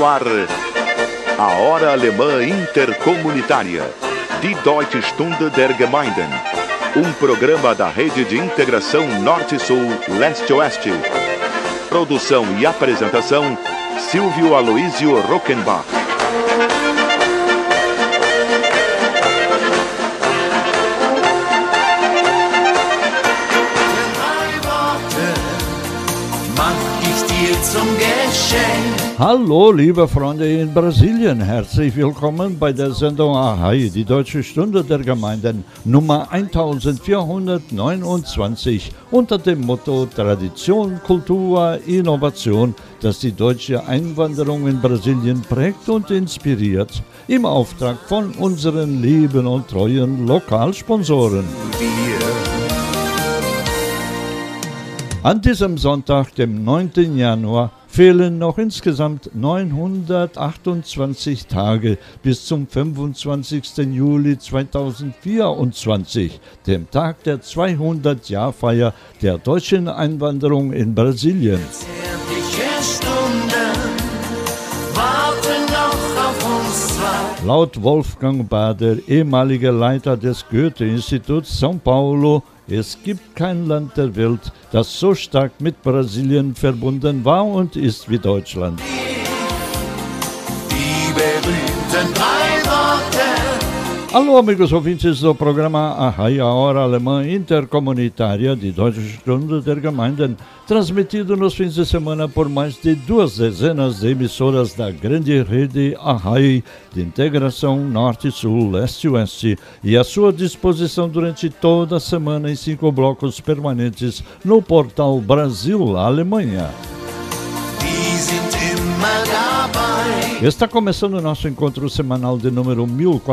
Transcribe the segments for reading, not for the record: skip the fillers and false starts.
no ar a Hora Alemã Intercomunitária, Die Deutsche Stunde der Gemeinden, programa da Rede de Integração Norte-Sul, Leste-Oeste. Produção e apresentação, Silvio Aloísio Rockenbach. Hallo, liebe Freunde in Brasilien, herzlich willkommen bei der Sendung Ahai, die Deutsche Stunde der Gemeinden Nummer 1429 unter dem Motto Tradition, Kultur, Innovation, das die deutsche Einwanderung in Brasilien prägt und inspiriert, im Auftrag von unseren lieben und treuen Lokalsponsoren. An diesem Sonntag, dem 9. Januar, fehlen noch insgesamt 928 Tage bis zum 25. Juli 2024, dem Tag der 200-Jahr-Feier der deutschen Einwanderung in Brasilien. Laut Wolfgang Bader, ehemaliger Leiter des Goethe-Instituts São Paulo, es gibt kein Land der Welt, das so stark mit Brasilien verbunden war und ist wie Deutschland. Die berühmten drei Worte. Alô, amigos ouvintes do programa Ahai, a Hora Alemã Intercomunitária, die Deutsche Stunde der Gemeinden, transmitido nos fins de semana por mais de 2 dezenas de emissoras da grande rede Ahai de Integração Norte-Sul, Leste-Oeste, e à sua disposição durante toda a semana em 5 blocos permanentes no portal Brasil-Alemanha. Está começando o nosso encontro semanal de número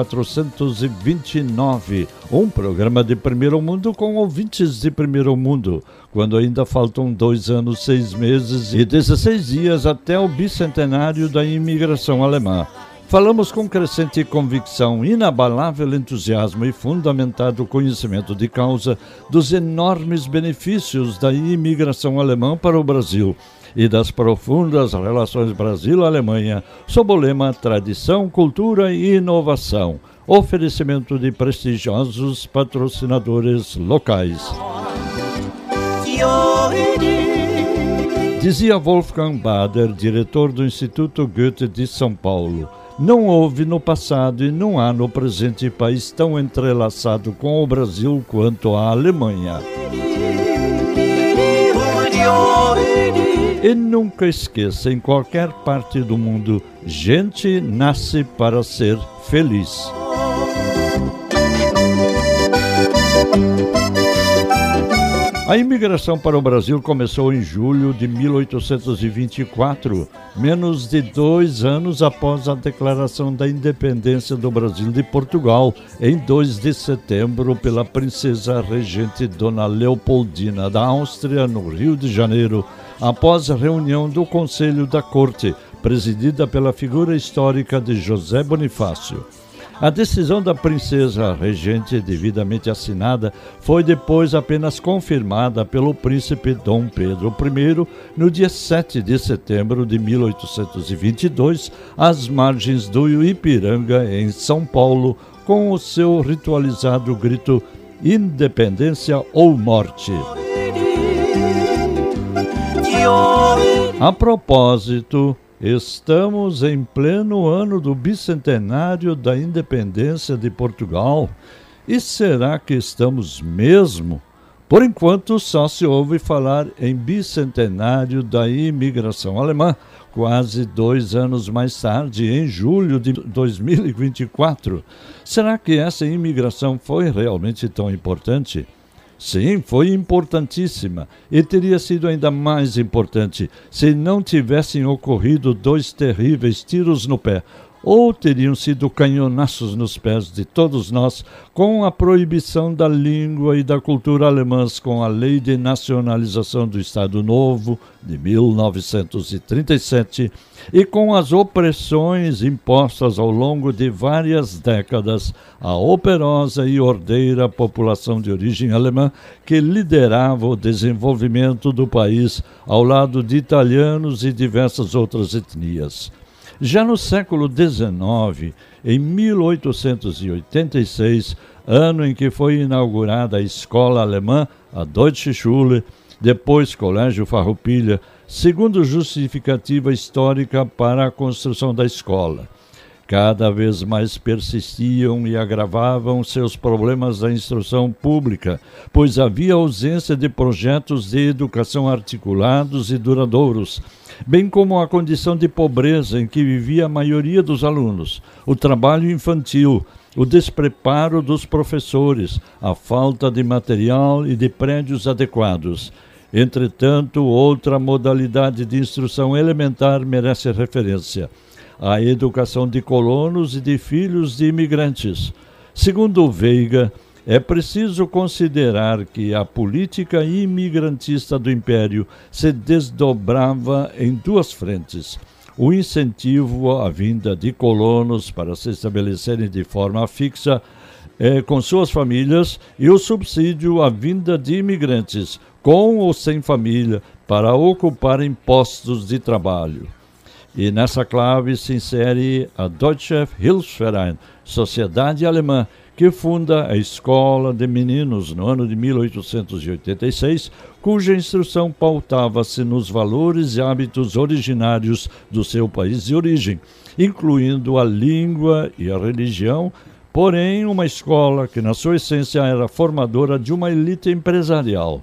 1429, programa de primeiro mundo com ouvintes de primeiro mundo, quando ainda faltam 2 anos, 6 meses e 16 dias até o bicentenário da imigração alemã. Falamos com crescente convicção, inabalável entusiasmo e fundamentado conhecimento de causa dos enormes benefícios da imigração alemã para o Brasil e das profundas relações Brasil-Alemanha, sob o lema Tradição, Cultura e Inovação. Oferecimento de prestigiosos patrocinadores locais. Dizia Wolfgang Bader, diretor do Instituto Goethe de São Paulo: não houve no passado e não há no presente país tão entrelaçado com o Brasil quanto a Alemanha. E nunca esqueça, em qualquer parte do mundo, gente nasce para ser feliz. A imigração para o Brasil começou em julho de 1824, menos de 2 anos após a declaração da independência do Brasil de Portugal, em 2 de setembro, pela princesa regente Dona Leopoldina da Áustria, no Rio de Janeiro, após a reunião do Conselho da Corte, presidida pela figura histórica de José Bonifácio. A decisão da princesa regente, devidamente assinada, foi depois apenas confirmada pelo príncipe Dom Pedro I no dia 7 de setembro de 1822, às margens do Ipiranga, em São Paulo, com o seu ritualizado grito Independência ou Morte. A propósito, estamos em pleno ano do bicentenário da independência de Portugal. E será que estamos mesmo? Por enquanto, só se ouve falar em bicentenário da imigração alemã, quase 2 anos mais tarde, em julho de 2024. Será que essa imigração foi realmente tão importante? Sim, foi importantíssima e teria sido ainda mais importante se não tivessem ocorrido 2 terríveis tiros no pé, ou teriam sido canhonaços nos pés de todos nós com a proibição da língua e da cultura alemãs com a Lei de Nacionalização do Estado Novo, de 1937, e com as opressões impostas ao longo de várias décadas à operosa e ordeira população de origem alemã que liderava o desenvolvimento do país ao lado de italianos e diversas outras etnias. Já no século XIX, em 1886, ano em que foi inaugurada a escola alemã, a Deutsche Schule, depois Colégio Farroupilha, segundo justificativa histórica para a construção da escola. Cada vez mais persistiam e agravavam seus problemas da instrução pública, pois havia ausência de projetos de educação articulados e duradouros, bem como a condição de pobreza em que vivia a maioria dos alunos, o trabalho infantil, o despreparo dos professores, a falta de material e de prédios adequados. Entretanto, outra modalidade de instrução elementar merece referência: a educação de colonos e de filhos de imigrantes. Segundo Veiga, é preciso considerar que a política imigrantista do Império se desdobrava em duas frentes: o incentivo à vinda de colonos para se estabelecerem de forma fixa com suas famílias e o subsídio à vinda de imigrantes, com ou sem família, para ocuparem postos de trabalho. E nessa clave se insere a Deutsche Hilfsverein, sociedade alemã, que funda a Escola de Meninos no ano de 1886, cuja instrução pautava-se nos valores e hábitos originários do seu país de origem, incluindo a língua e a religião, porém uma escola que na sua essência era formadora de uma elite empresarial.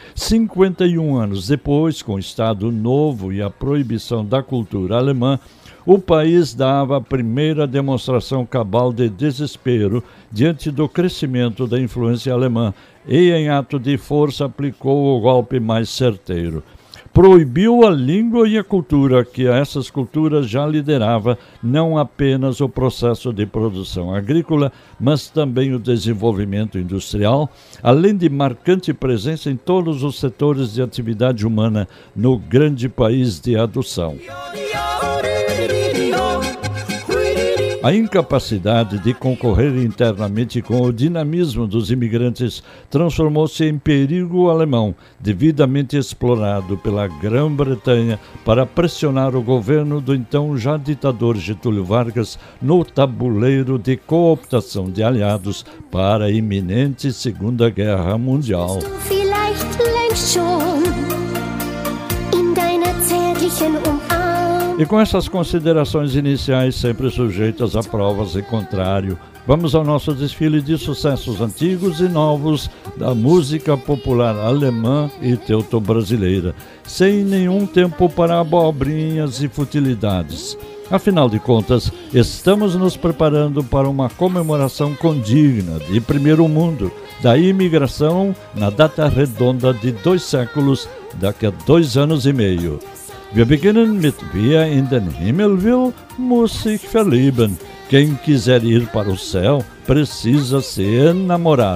51 anos depois, com o Estado Novo e a proibição da cultura alemã, o país dava a primeira demonstração cabal de desespero diante do crescimento da influência alemã e, em ato de força, aplicou o golpe mais certeiro. Proibiu a língua e a cultura, que a essas culturas já liderava não apenas o processo de produção agrícola, mas também o desenvolvimento industrial, além de marcante presença em todos os setores de atividade humana no grande país de adoção. A incapacidade de concorrer internamente com o dinamismo dos imigrantes transformou-se em perigo alemão, devidamente explorado pela Grã-Bretanha para pressionar o governo do então já ditador Getúlio Vargas no tabuleiro de cooptação de aliados para a iminente Segunda Guerra Mundial. E com essas considerações iniciais, sempre sujeitas a provas em contrário, vamos ao nosso desfile de sucessos antigos e novos da música popular alemã e teuto-brasileira, sem nenhum tempo para abobrinhas e futilidades. Afinal de contas, estamos nos preparando para uma comemoração condigna de primeiro mundo da imigração na data redonda de 2 séculos, daqui a 2 anos e meio. Wir beginnen mit Wer in den Himmel will, muss sich verlieben. Quem quiser ir para o céu precisa se enamorar.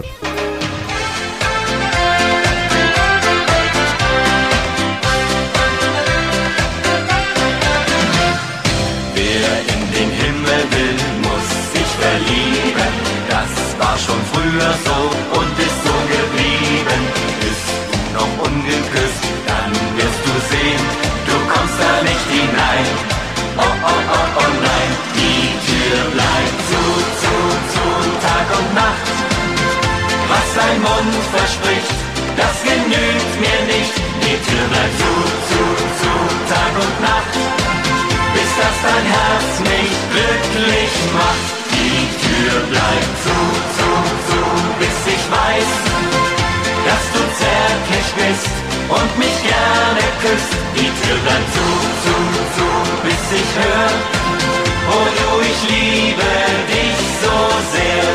Wer in den Himmel will, muss sich verlieben. Das war schon früher so und ist so geblieben. Bist du noch ungeküsst, dann wirst du sehen, du kommst da nicht hinein. Oh, oh, oh, oh nein, die Tür bleibt zu, Tag und Nacht. Was ein Mund verspricht, das genügt mir nicht. Die Tür bleibt zu, Tag und Nacht. Bis das dein Herz mich glücklich macht. Die Tür bleibt zu, bis ich weiß, dass du zärtlich bist und mich gerne küsst. Die Tür bleibt zu, bis ich hör, oh du, ich liebe dich so sehr.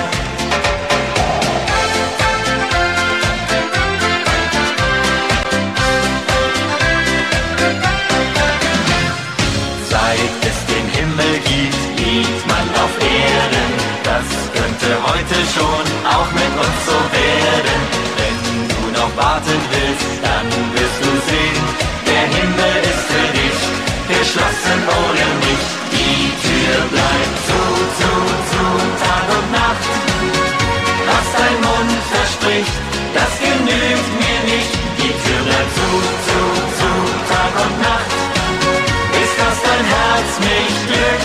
Seit es den Himmel gibt, liebt man auf Erden. Das könnte heute schon auch mit uns so werden. Wenn du noch warten willst, dann wirst du sehen, der Himmel ist für dich geschlossen oder nicht. Die Tür bleibt zu, Tag und Nacht. Was dein Mund verspricht, das genügt mir nicht. Die Tür bleibt zu, Tag und Nacht. Bis dass dein Herz mich glücklich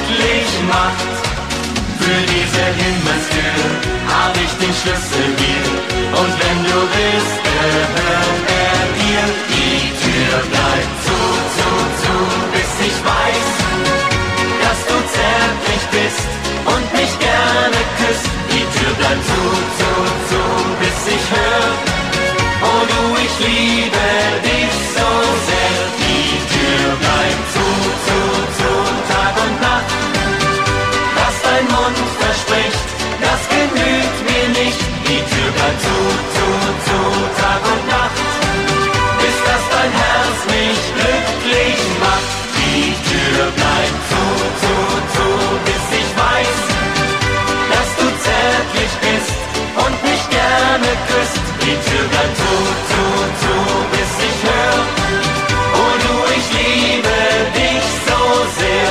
gemacht. Für diese Himmelstür hab ich den Schlüssel hier. Und wenn du willst, gehört er dir. Die Tür bleibt zu, bis ich weiß, dass du zärtlich bist und mich gerne küsst. Die Tür bleibt zu, bis ich hör, oh du, ich liebe dich so sehr. Die Tür bleibt zu, Tag und Nacht. Was dein Mund verspricht, das genügt mir nicht. Die Tür bleibt zu, Tag und Nacht. Bis dass dein Herz mich glücklich macht. Die Tür bleibt zu, bis ich weiß, dass du zärtlich bist und mich gerne küsst. Die Tür bleibt zu, bis ich hör, oh du, ich liebe dich so sehr.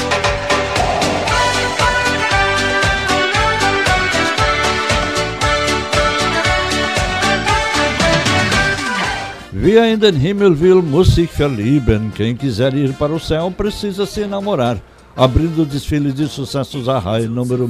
Wer in den Himmel will, muss sich verlieben. Quem quiser ir para o céu, precisa se namorar. Abrindo o desfile de sucessos Arrai, número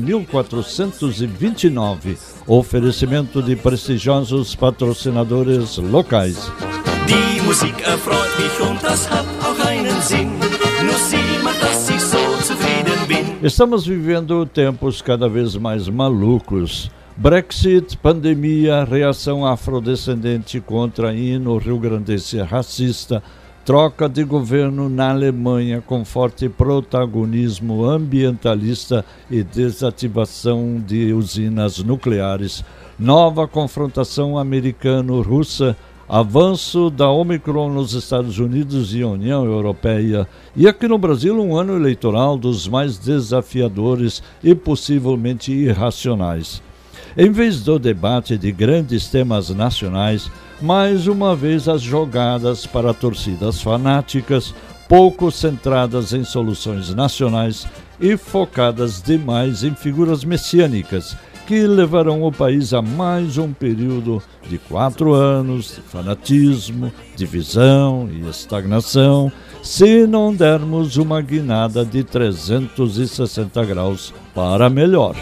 1429. Oferecimento de prestigiosos patrocinadores locais. Die Musik erfreut mich und das hat auch einen Sinn. Nur sie macht, dass ich so zufrieden bin. Estamos vivendo tempos cada vez mais malucos. Brexit, pandemia, reação afrodescendente contra hino rio-grandense racista, troca de governo na Alemanha com forte protagonismo ambientalista e desativação de usinas nucleares, nova confrontação americano-russa, avanço da Omicron nos Estados Unidos e União Europeia, e aqui no Brasil um ano eleitoral dos mais desafiadores e possivelmente irracionais. Em vez do debate de grandes temas nacionais, mais uma vez as jogadas para torcidas fanáticas, pouco centradas em soluções nacionais e focadas demais em figuras messiânicas, que levarão o país a mais um período de 4 anos de fanatismo, divisão e estagnação, se não dermos uma guinada de 360 graus para melhor.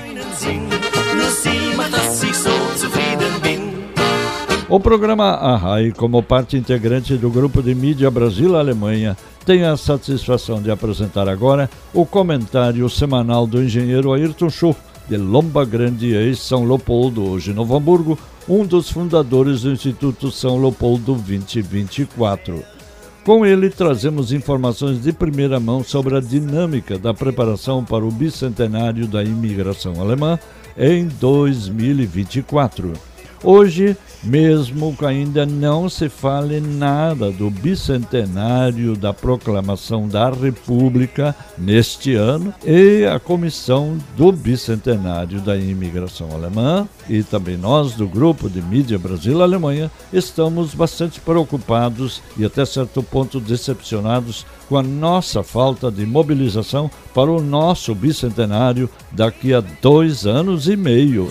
O programa Arrai, como parte integrante do grupo de mídia Brasil-Alemanha, tem a satisfação de apresentar agora o comentário semanal do engenheiro Ayrton Schuh, de Lomba Grande, ex-São Leopoldo, hoje Novo Hamburgo, um dos fundadores do Instituto São Leopoldo 2024. Com ele, trazemos informações de primeira mão sobre a dinâmica da preparação para o bicentenário da imigração alemã em 2024. Hoje, mesmo que ainda não se fale nada do bicentenário da proclamação da República neste ano e a comissão do bicentenário da imigração alemã, e também nós do grupo de mídia Brasil-Alemanha estamos bastante preocupados e até certo ponto decepcionados com a nossa falta de mobilização para o nosso bicentenário daqui a 2 anos e meio.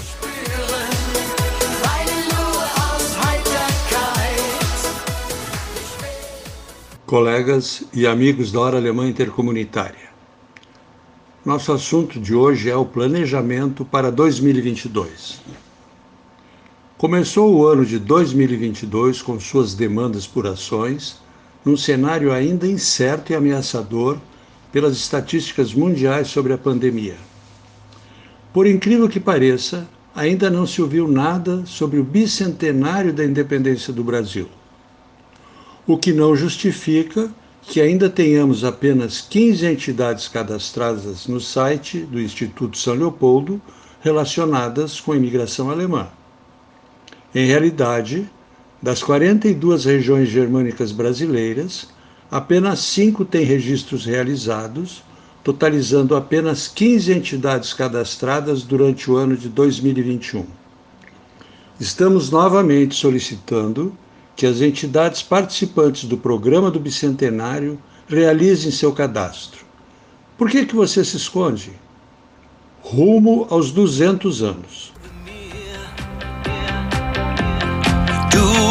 Colegas e amigos da Hora Alemã Intercomunitária. Nosso assunto de hoje é o planejamento para 2022. Começou o ano de 2022 com suas demandas por ações, num cenário ainda incerto e ameaçador pelas estatísticas mundiais sobre a pandemia. Por incrível que pareça, ainda não se ouviu nada sobre o bicentenário da independência do Brasil. O que não justifica que ainda tenhamos apenas 15 entidades cadastradas no site do Instituto São Leopoldo relacionadas com a imigração alemã. Em realidade, das 42 regiões germânicas brasileiras, apenas 5 têm registros realizados, totalizando apenas 15 entidades cadastradas durante o ano de 2021. Estamos novamente solicitando que as entidades participantes do programa do Bicentenário realizem seu cadastro. Por que você se esconde? Rumo aos 200 anos. Du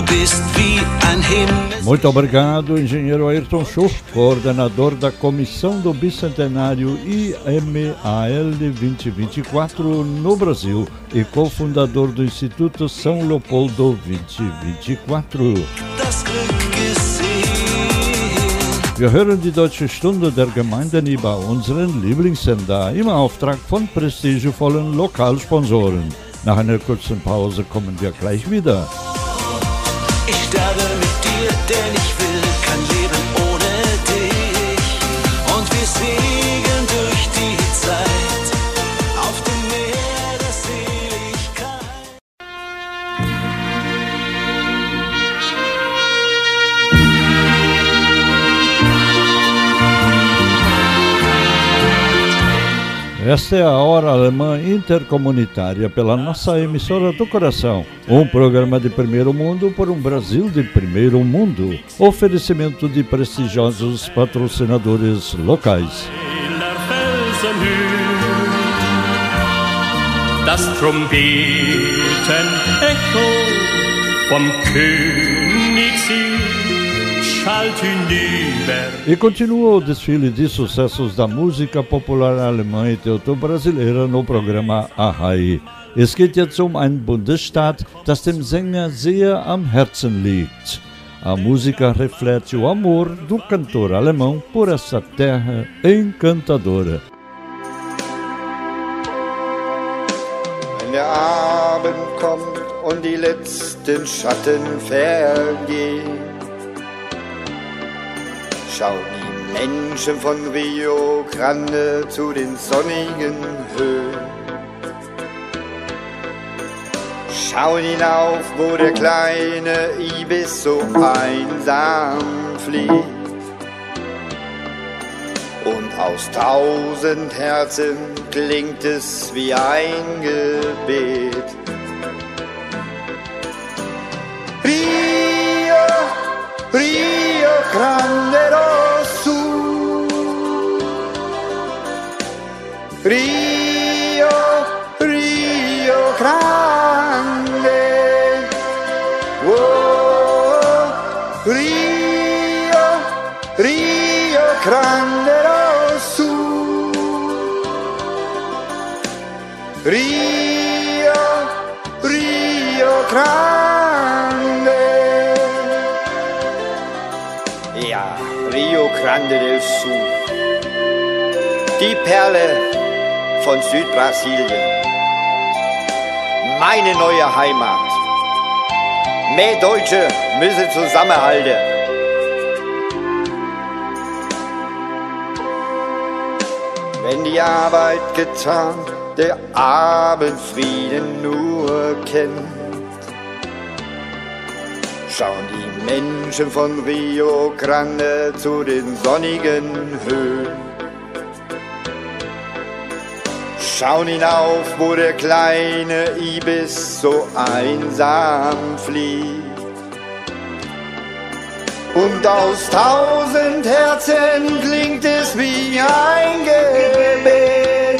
bist wie ein Himmel. Muito obrigado, engenheiro Ayrton Schuch, coordenador da Comissão do Bicentenário IMAL 2024 no Brasil e cofundador do Instituto São Leopoldo 2024. Das Glück gesehen. Wir hören die Deutsche Stunde der Gemeinden über unseren Lieblingssender im Auftrag von prestigevollen Lokalsponsoren. Nach einer kurzen Pause kommen wir gleich wieder. Ich sterbe mit dir, denn ich will kein Leben ohne dich. Und wir segeln durch die Zeit auf dem Meer der Seligkeit. Esta é a Hora Alemã Intercomunitária pela nossa emissora do coração. Um programa de primeiro mundo por um Brasil de primeiro mundo. Oferecimento de prestigiosos patrocinadores locais. Das Trompeten Echo vom Königssee schallt hinüber. E continua o desfile de sucessos da música popular alemã e teuto-brasileira no programa Ahai. Es geht jetzt um einen Bundesstaat, das dem Sänger sehr am Herzen liegt. A música reflete o amor do cantor alemão por essa terra encantadora. Wenn der Abend kommt und die letzten Schatten vergehen, schauen die Menschen von Rio Grande zu den sonnigen Höhen. Schauen hinauf, wo der kleine Ibis so einsam fliegt. Und aus 1000 Herzen klingt es wie ein Gebet. Rio, Rio Grande do Sul. Rio, Rio Grande. Oh, Rio, Rio Grande do Sul. Rio, Rio Grande. Ja, Rio Grande del Sul. Die Perle von Südbrasilien. Meine neue Heimat. Mehr Deutsche müssen zusammenhalten. Wenn die Arbeit getan, der Abendfrieden nur kennt, schauen die Menschen von Rio Grande zu den sonnigen Höhen. Schauen hinauf, wo der kleine Ibis so einsam fliegt. Und aus 1000 Herzen klingt es wie ein Gebet.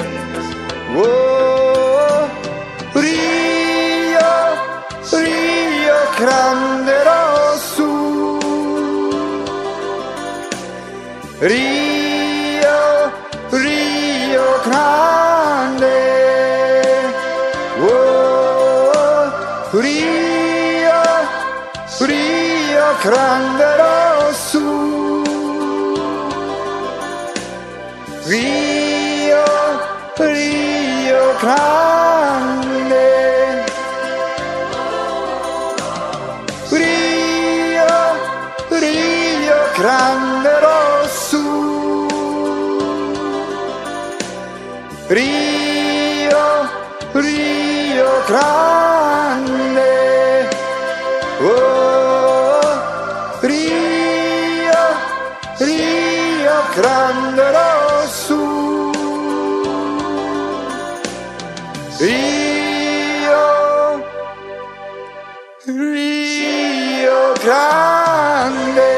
Oh, Rio, Rio Grande do Sul. Rio, Rio Grande. Oh, Rio, Rio Grande do Sul. Rio, Rio Grande. Rio, Rio Grande do Sul. Rio, Rio Grande. Oh, Rio, Rio Grande do Sul. Rio, Rio Grande.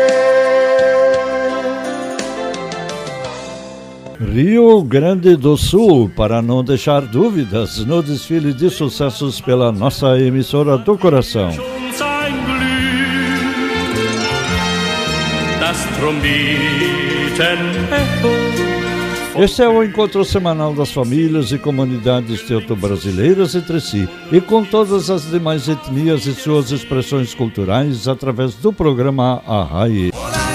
Rio Grande do Sul, para não deixar dúvidas, no desfile de sucessos pela nossa emissora do coração. Schon sein Glück das Trompeten-Echo. Esse é o encontro semanal das famílias e comunidades teuto-brasileiras entre si e com todas as demais etnias e suas expressões culturais através do programa Arrai.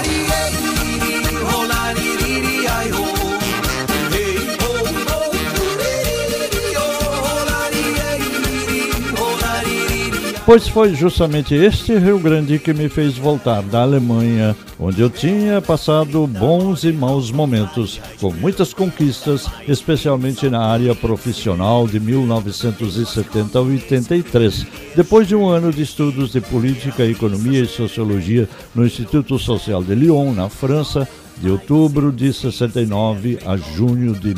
Pois foi justamente este Rio Grande que me fez voltar da Alemanha, onde eu tinha passado bons e maus momentos, com muitas conquistas, especialmente na área profissional de 1970 a 83, depois de um ano de estudos de política, economia e sociologia no Instituto Social de Lyon, na França, de outubro de 69 a junho de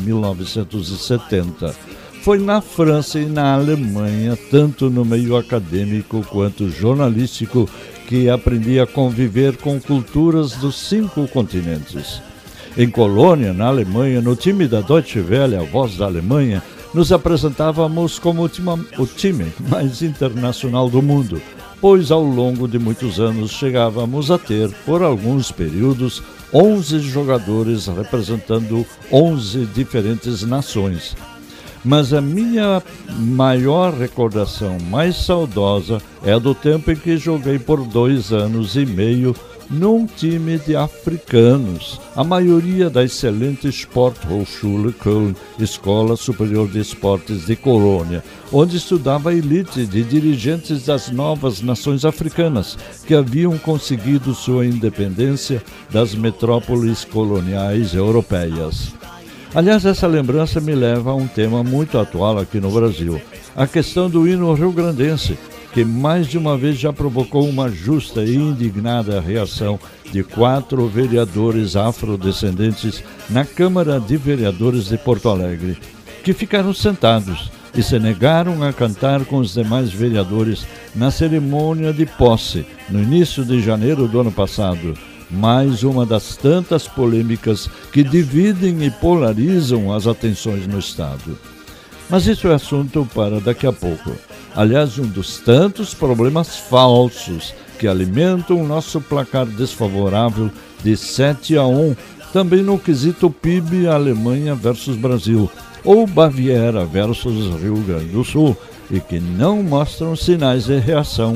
1970. Foi na França e na Alemanha, tanto no meio acadêmico quanto jornalístico, que aprendi a conviver com culturas dos 5 continentes. Em Colônia, na Alemanha, no time da Deutsche Welle, a voz da Alemanha, nos apresentávamos como o time mais internacional do mundo, pois ao longo de muitos anos chegávamos a ter, por alguns períodos, 11 jogadores representando 11 diferentes nações. Mas a minha maior recordação, mais saudosa, é a do tempo em que joguei por 2 anos e meio num time de africanos, a maioria da excelente Sporthochschule Köln, Escola Superior de Esportes de Colônia, onde estudava a elite de dirigentes das novas nações africanas, que haviam conseguido sua independência das metrópoles coloniais europeias. Aliás, essa lembrança me leva a um tema muito atual aqui no Brasil, a questão do hino rio-grandense, que mais de uma vez já provocou uma justa e indignada reação de 4 vereadores afrodescendentes na Câmara de Vereadores de Porto Alegre, que ficaram sentados e se negaram a cantar com os demais vereadores na cerimônia de posse, no início de janeiro do ano passado. Mais uma das tantas polêmicas que dividem e polarizam as atenções no Estado. Mas isso é assunto para daqui a pouco. Aliás, um dos tantos problemas falsos que alimentam o nosso placar desfavorável de 7-1, também no quesito PIB Alemanha versus Brasil, ou Baviera versus Rio Grande do Sul, e que não mostram sinais de reação.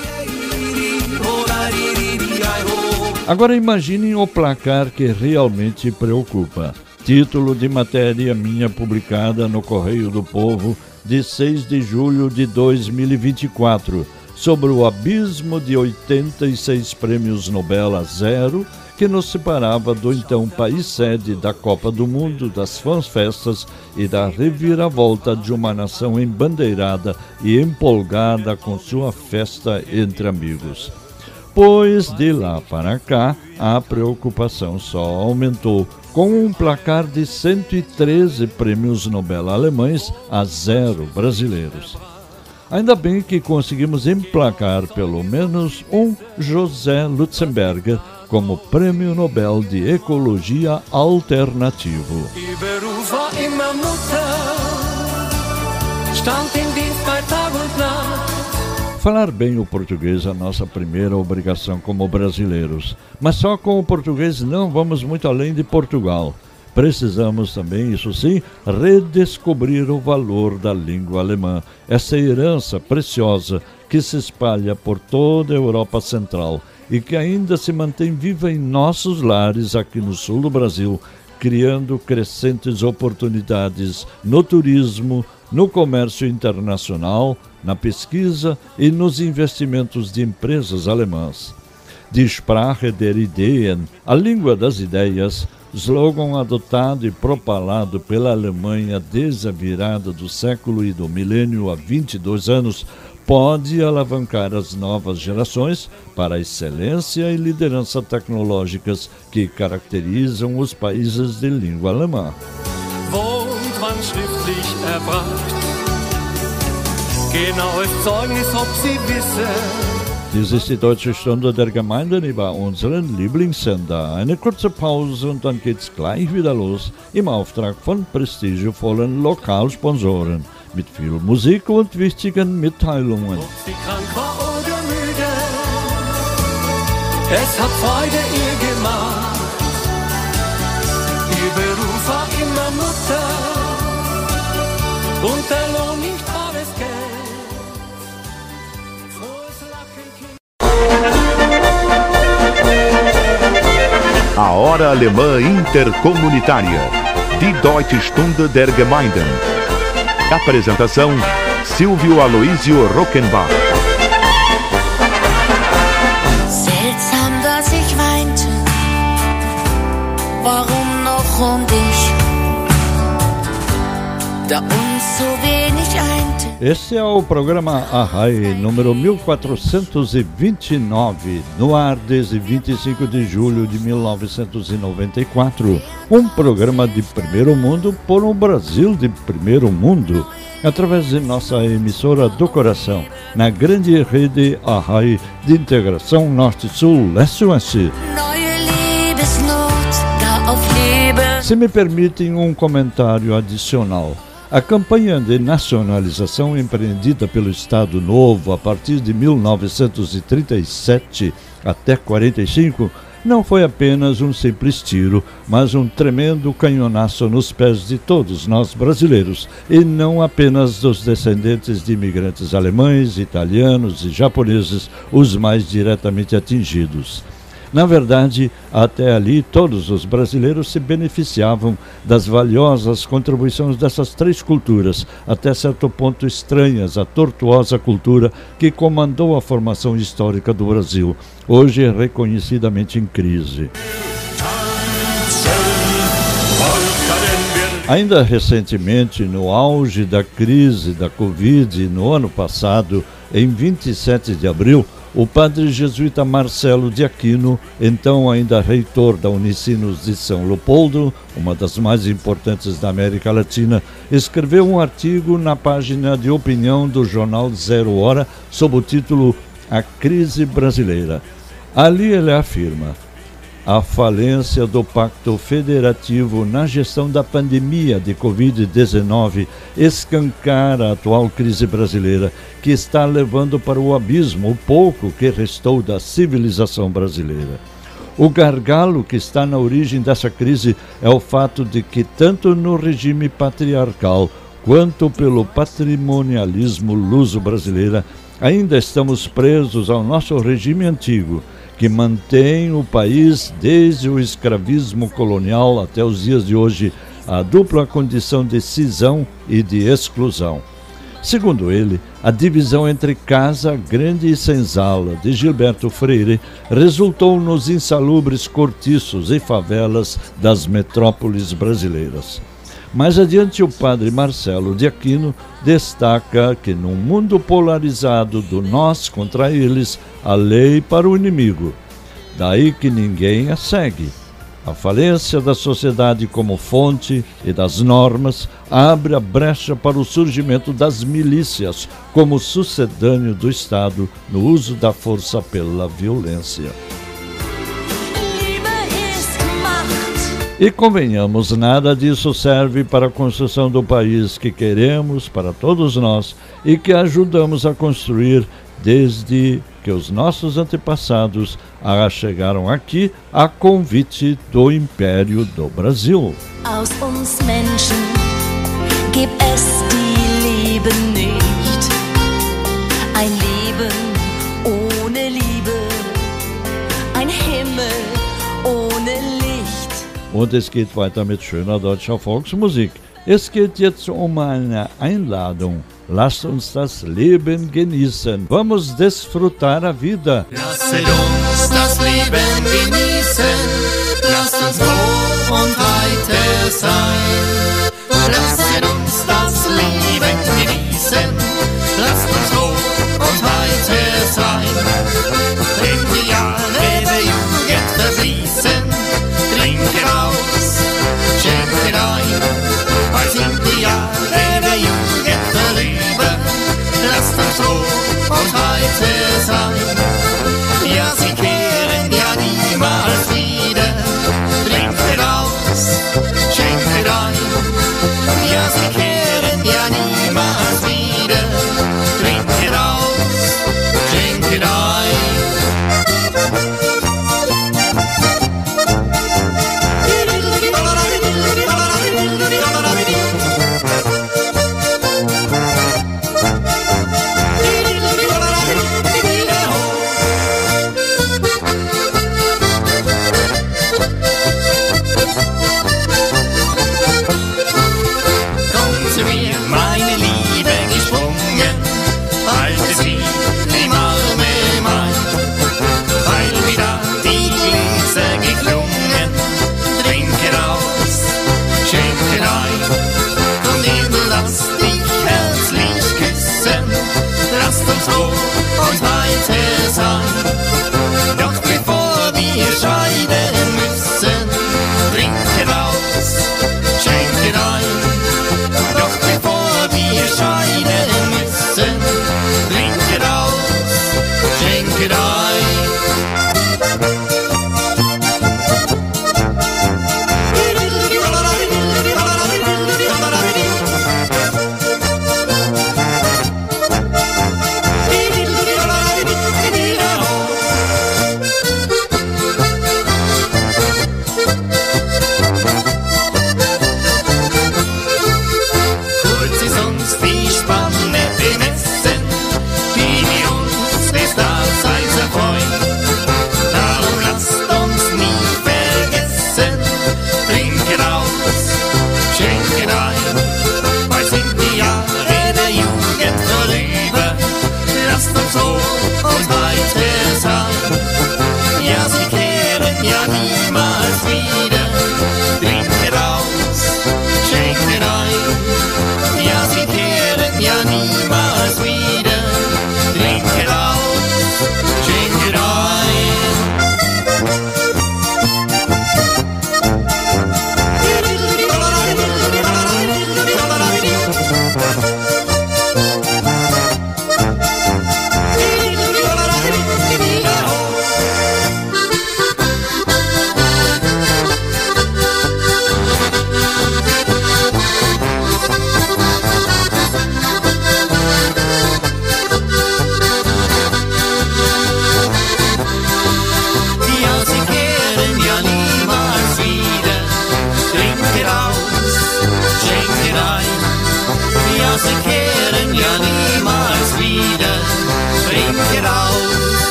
Agora imaginem o placar que realmente preocupa. Título de matéria minha publicada no Correio do Povo de 6 de julho de 2024, sobre o abismo de 86 prêmios Nobel a 0 que nos separava do então país sede da Copa do Mundo, das fanfestas e da reviravolta de uma nação embandeirada e empolgada com sua festa entre amigos. Pois de lá para cá, a preocupação só aumentou, com um placar de 113 prêmios Nobel alemães a 0 brasileiros. Ainda bem que conseguimos emplacar pelo menos um José Lutzenberger como Prêmio Nobel de Ecologia Alternativo. Falar bem o português é a nossa primeira obrigação como brasileiros, mas só com o português não vamos muito além de Portugal. Precisamos também, isso sim, redescobrir o valor da língua alemã, essa herança preciosa que se espalha por toda a Europa Central e que ainda se mantém viva em nossos lares aqui no sul do Brasil, criando crescentes oportunidades no turismo, no comércio internacional, na pesquisa e nos investimentos de empresas alemãs. Die Sprache der Ideen, a língua das ideias, slogan adotado e propalado pela Alemanha desde a virada do século e do milênio há 22 anos, pode alavancar as novas gerações para a excelência e liderança tecnológicas que caracterizam os países de língua alemã. Dies ist die Deutsche Stunde der Gemeinden über unseren Lieblingssender. Eine kurze Pause und dann geht's gleich wieder los im Auftrag von prestigevollen Lokalsponsoren mit viel Musik und wichtigen Mitteilungen. Ob sie krank war oder müde, es hat Freude ihr gemacht. macht. Ihr Beruf war immer Mutter und der Lohn nicht alles Geld. Frohes Lachen, Kind. A Hora Alemã Intercomunitária. Die Deutsche Stunde der Gemeinden. Apresentação: Silvio Aloysio Rockenbach. Seltsam, dass ich weinte. Warum noch und ich? Da uns so wenig einte. Este é o programa Arrai, número 1429, no ar desde 25 de julho de 1994. Um programa de primeiro mundo por um Brasil de primeiro mundo, através de nossa emissora do coração, na grande rede Arrai de integração Norte-Sul, Leste-Oeste. Se me permitem um comentário adicional. A campanha de nacionalização empreendida pelo Estado Novo a partir de 1937 até 45 não foi apenas um simples tiro, mas um tremendo canhonaço nos pés de todos nós brasileiros, e não apenas dos descendentes de imigrantes alemães, italianos e japoneses, os mais diretamente atingidos. Na verdade, até ali, todos os brasileiros se beneficiavam das valiosas contribuições dessas três culturas, até certo ponto estranhas à tortuosa cultura que comandou a formação histórica do Brasil, hoje reconhecidamente em crise. Ainda recentemente, no auge da crise da Covid, no ano passado, em 27 de abril, o padre jesuíta Marcelo de Aquino, então ainda reitor da Unicinos de São Leopoldo, uma das mais importantes da América Latina, escreveu um artigo na página de opinião do jornal Zero Hora sob o título A Crise Brasileira. Ali ele afirma: a falência do Pacto Federativo na gestão da pandemia de Covid-19 escancara a atual crise brasileira, que está levando para o abismo o pouco que restou da civilização brasileira. O gargalo que está na origem dessa crise é o fato de que, tanto no regime patriarcal quanto pelo patrimonialismo luso-brasileira, ainda estamos presos ao nosso regime antigo, que mantém o país desde o escravismo colonial até os dias de hoje, a dupla condição de cisão e de exclusão. Segundo ele, a divisão entre casa grande e senzala de Gilberto Freire resultou nos insalubres cortiços e favelas das metrópoles brasileiras. Mais adiante, o padre Marcelo de Aquino destaca que num mundo polarizado do nós contra eles, há lei para o inimigo. Daí que ninguém a segue. A falência da sociedade como fonte e das normas abre a brecha para o surgimento das milícias como sucedâneo do Estado no uso da força pela violência. E convenhamos, nada disso serve para a construção do país que queremos para todos nós e que ajudamos a construir desde que os nossos antepassados chegaram aqui a convite do Império do Brasil. Aus uns Menschen gibt es die Liebe nicht. Ein Leben ohne Liebe, ein Himmel ohne Licht. Und es geht weiter mit schöner deutscher Volksmusik. Es geht jetzt um eine Einladung. Lasst uns das Leben genießen. Vamos desfrutar a vida. Lasset uns das Leben genießen. Lasst uns froh und heiter sein. Lasset uns das Leben genießen. Lasst uns froh und heiter sein. Wenn die Jahre der Jugend verfließen, trinket aus, schenket ein. Bald sind die Jahre der Jugend vorüber. Lasst uns froh und heiter sein. Ja, sie kehren ja niemals wieder. Trinket aus, schenket ein. Ja, sie kehren ja niemals wieder. Trinket aus, schenket ein.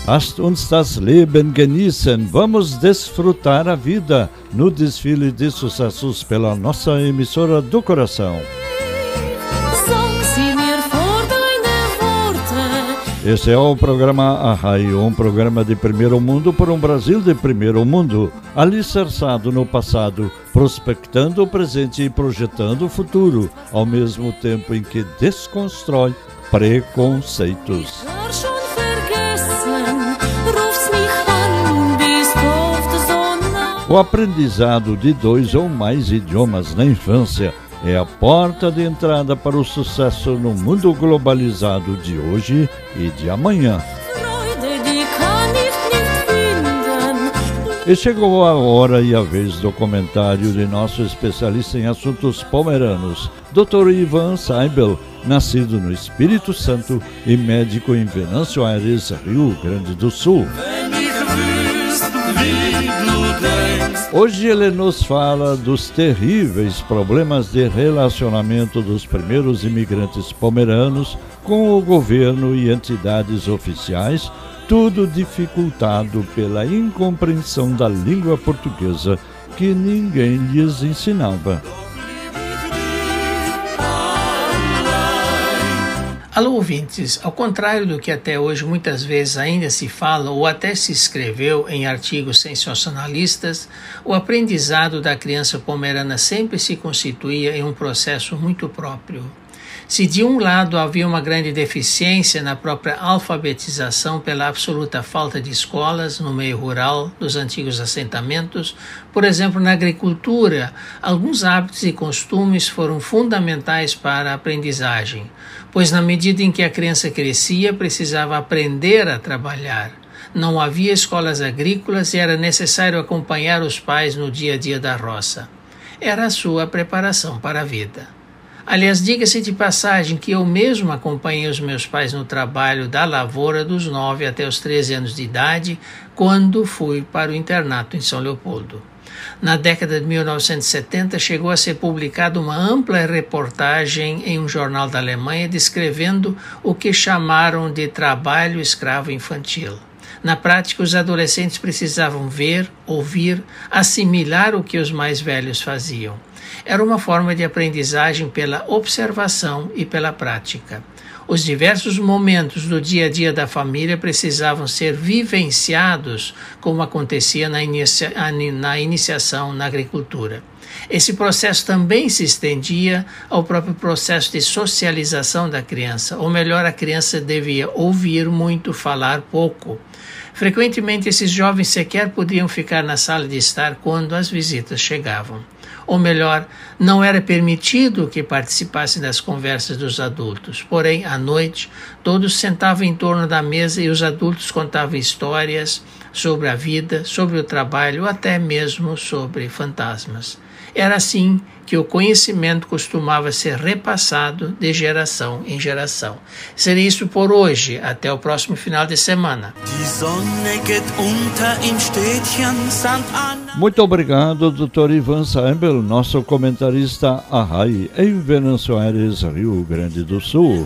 Lasst uns das Leben genießen. Vamos desfrutar a vida no desfile de sucessos pela nossa emissora do coração. Esse é o programa Arrai, um programa de primeiro mundo por um Brasil de primeiro mundo, alicerçado no passado, prospectando o presente e projetando o futuro, ao mesmo tempo em que desconstrói preconceitos. O aprendizado de 2 ou mais idiomas na infância é a porta de entrada para o sucesso no mundo globalizado de hoje e de amanhã. E chegou a hora e a vez do comentário de nosso especialista em assuntos pomeranos, Dr. Ivan Seibel, nascido no Espírito Santo e médico em Venâncio Aires, Rio Grande do Sul. Hoje ele nos fala dos terríveis problemas de relacionamento dos primeiros imigrantes pomeranos com o governo e entidades oficiais, tudo dificultado pela incompreensão da língua portuguesa que ninguém lhes ensinava. Alô, ouvintes, ao contrário do que até hoje muitas vezes ainda se fala ou até se escreveu em artigos sensacionalistas, o aprendizado da criança pomerana sempre se constituía em um processo muito próprio. Se de um lado havia uma grande deficiência na própria alfabetização pela absoluta falta de escolas no meio rural dos antigos assentamentos, por exemplo, na agricultura, alguns hábitos e costumes foram fundamentais para a aprendizagem, pois na medida em que a criança crescia, precisava aprender a trabalhar. Não havia escolas agrícolas e era necessário acompanhar os pais no dia a dia da roça. Era a sua preparação para a vida. Aliás, diga-se de passagem que eu mesmo acompanhei os meus pais no trabalho da lavoura dos 9 até os 13 anos de idade, quando fui para o internato em São Leopoldo. Na década de 1970, chegou a ser publicada uma ampla reportagem em um jornal da Alemanha descrevendo o que chamaram de trabalho escravo infantil. Na prática, os adolescentes precisavam ver, ouvir, assimilar o que os mais velhos faziam. Era uma forma de aprendizagem pela observação e pela prática. Os diversos momentos do dia a dia da família precisavam ser vivenciados, como acontecia na iniciação na agricultura. Esse processo também se estendia ao próprio processo de socialização da criança, ou melhor, a criança devia ouvir muito, falar pouco. Frequentemente, esses jovens sequer podiam ficar na sala de estar quando as visitas chegavam. Ou melhor, não era permitido que participassem das conversas dos adultos. Porém, à noite, todos sentavam em torno da mesa e os adultos contavam histórias sobre a vida, sobre o trabalho, ou até mesmo sobre fantasmas. Era assim que o conhecimento costumava ser repassado de geração em geração. Seria isso por hoje. Até o próximo final de semana. Muito obrigado, Dr. Ivan Seibel, nosso comentarista Arrai, em Venâncio Aires, Rio Grande do Sul.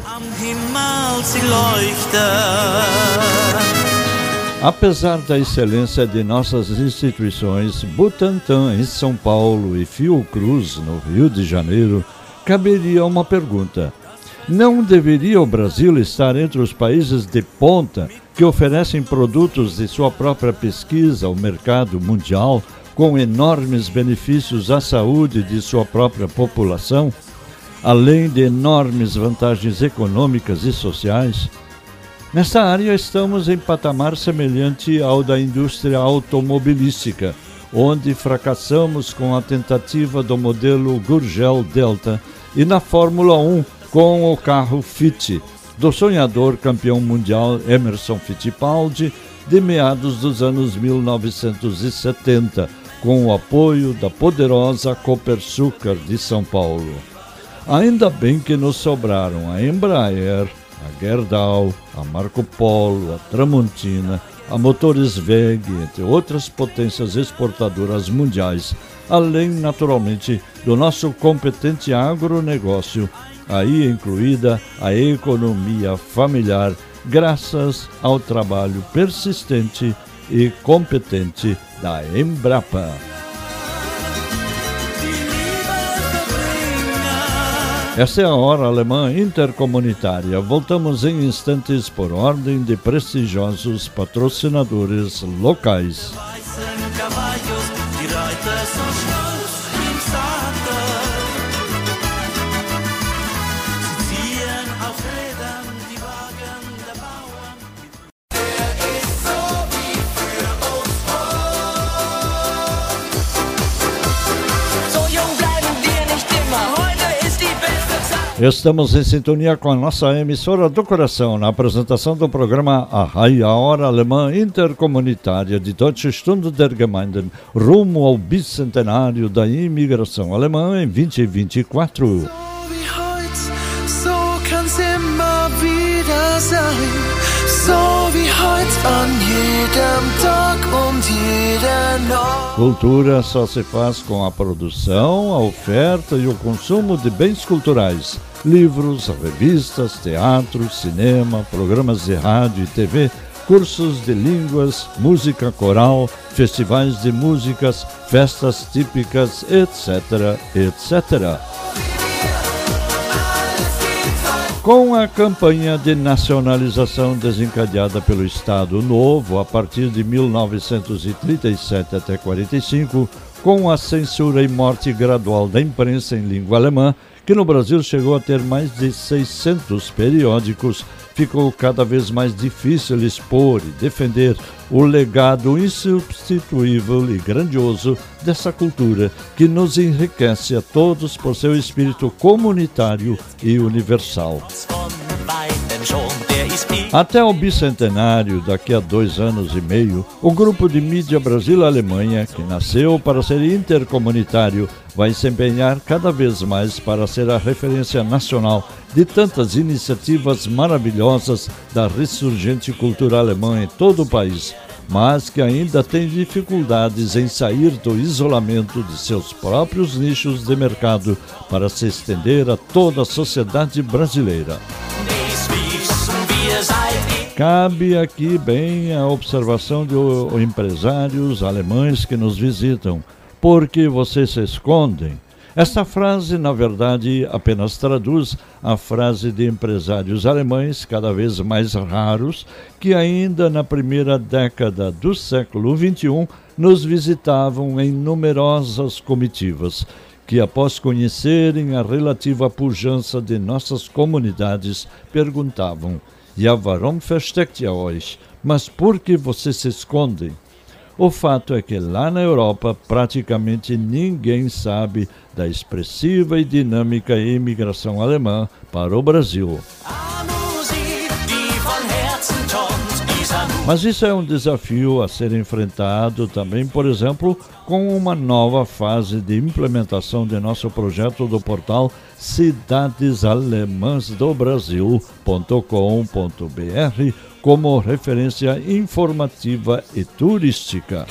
Apesar da excelência de nossas instituições, Butantan em São Paulo e Fiocruz no Rio de Janeiro, caberia uma pergunta. Não deveria o Brasil estar entre os países de ponta que oferecem produtos de sua própria pesquisa ao mercado mundial com enormes benefícios à saúde de sua própria população, além de enormes vantagens econômicas e sociais? Nesta área estamos em patamar semelhante ao da indústria automobilística, onde fracassamos com a tentativa do modelo Gurgel Delta e na Fórmula 1 com o carro Fiat, do sonhador campeão mundial Emerson Fittipaldi, de meados dos anos 1970, com o apoio da poderosa Copersucar de São Paulo. Ainda bem que nos sobraram a Embraer, a Gerdau, a Marco Polo, a Tramontina, a Motores WEG, entre outras potências exportadoras mundiais, além, naturalmente, do nosso competente agronegócio, aí incluída a economia familiar graças ao trabalho persistente e competente da Embrapa. Essa é a Hora Alemã Intercomunitária. Voltamos em instantes por ordem de prestigiosos patrocinadores locais. Estamos em sintonia com a nossa emissora do coração na apresentação do programa A Hora Alemã Intercomunitária de Deutsche Stunde der Gemeinden, rumo ao bicentenário da imigração alemã em 2024. Cultura só se faz com a produção, a oferta e o consumo de bens culturais, livros, revistas, teatro, cinema, programas de rádio e TV, cursos de línguas, música coral, festivais de músicas, festas típicas, etc., etc. Com a campanha de nacionalização desencadeada pelo Estado Novo a partir de 1937 até 1945, com a censura e morte gradual da imprensa em língua alemã, que no Brasil chegou a ter mais de 600 periódicos, ficou cada vez mais difícil expor e defender o legado insubstituível e grandioso dessa cultura que nos enriquece a todos por seu espírito comunitário e universal. Até o bicentenário, daqui a 2 anos e meio, o grupo de mídia Brasil-Alemanha, que nasceu para ser intercomunitário, vai se empenhar cada vez mais para ser a referência nacional de tantas iniciativas maravilhosas da ressurgente cultura alemã em todo o país, mas que ainda tem dificuldades em sair do isolamento de seus próprios nichos de mercado para se estender a toda a sociedade brasileira. Cabe aqui bem a observação de empresários alemães que nos visitam. Por que vocês se escondem? Esta frase, na verdade, apenas traduz a frase de empresários alemães cada vez mais raros que ainda na primeira década do século XXI nos visitavam em numerosas comitivas, que após conhecerem a relativa pujança de nossas comunidades, perguntavam: "Ja, warum versteckt ihr euch?" Mas por que vocês se escondem? O fato é que lá na Europa praticamente ninguém sabe da expressiva e dinâmica imigração alemã para o Brasil. Mas isso é um desafio a ser enfrentado também, por exemplo, com uma nova fase de implementação de nosso projeto do portal cidadesalemansdobrasil.com.br como referência informativa e turística.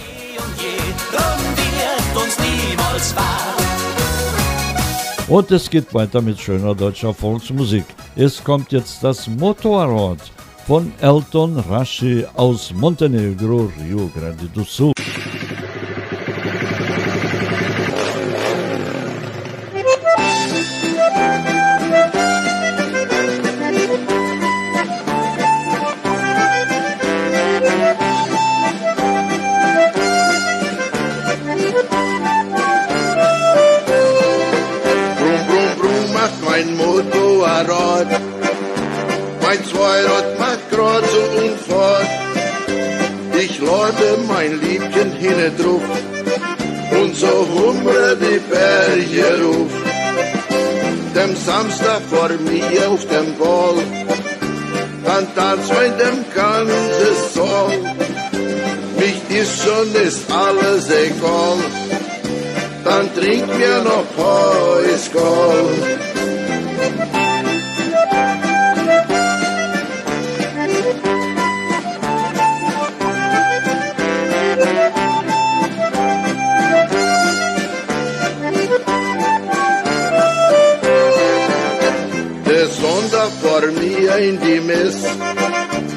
Und es geht weiter mit schöner deutscher Volksmusik. Es kommt jetzt das Motorrad von Elton Rashi aus Montenegro, Rio Grande do Sul. Mein Motorrad, mein Zweirad macht grad so Unfahrt. Ich lade mein Liebchen hinne drauf und so humre die Berge ruf. Dem Samstag vor mir auf dem Ball, dann tanzt in dem ganzen Saal. Mich ist schon ist alles egal, dann trink mir noch Heißgal. Der Sonntag vor mir in die Mess,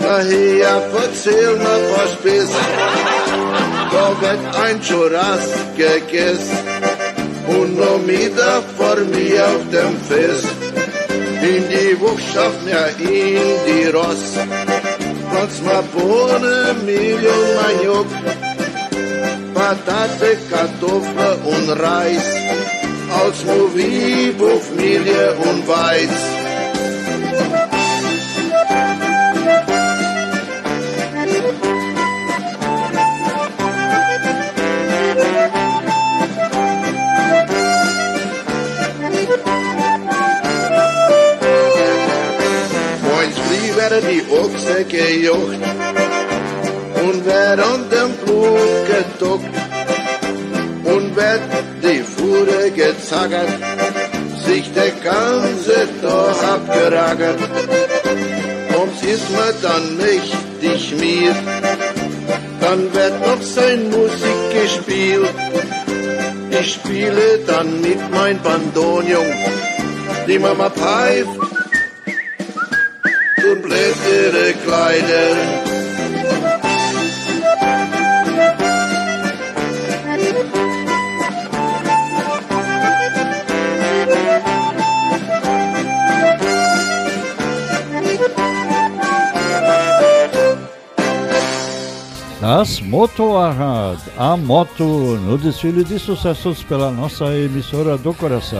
Nachher erzähl mir was Biss. Da wird ein Churras gegessen und noch Mittag vor mir auf dem Fest. In die Wuchschaft, ja in die Ross. Platz mal Bohnen, Mehl und Maniok, Patate, Kartoffeln und Reis, als Movie, Familie und Weiz. Die Ochse gejocht und werd an dem Blut geduckt und werd die Fuhre gezackert, sich der ganze Tag abgeragert. Ums ist mir dann mächtig mir, dann wird noch sein Musik gespielt. Ich spiele dann mit mein Bandonion, die Mama pfeift und bläst ihre Kleider. Das Moto Arad, a moto no desfile de sucessos pela nossa emissora do coração.